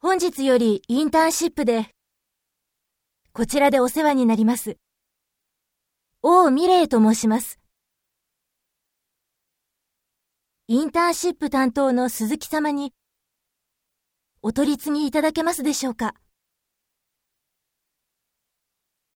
本日よりインターンシップで、こちらでお世話になります。王美玲と申します。インターンシップ担当の鈴木様に、お取り次ぎいただけますでしょうか。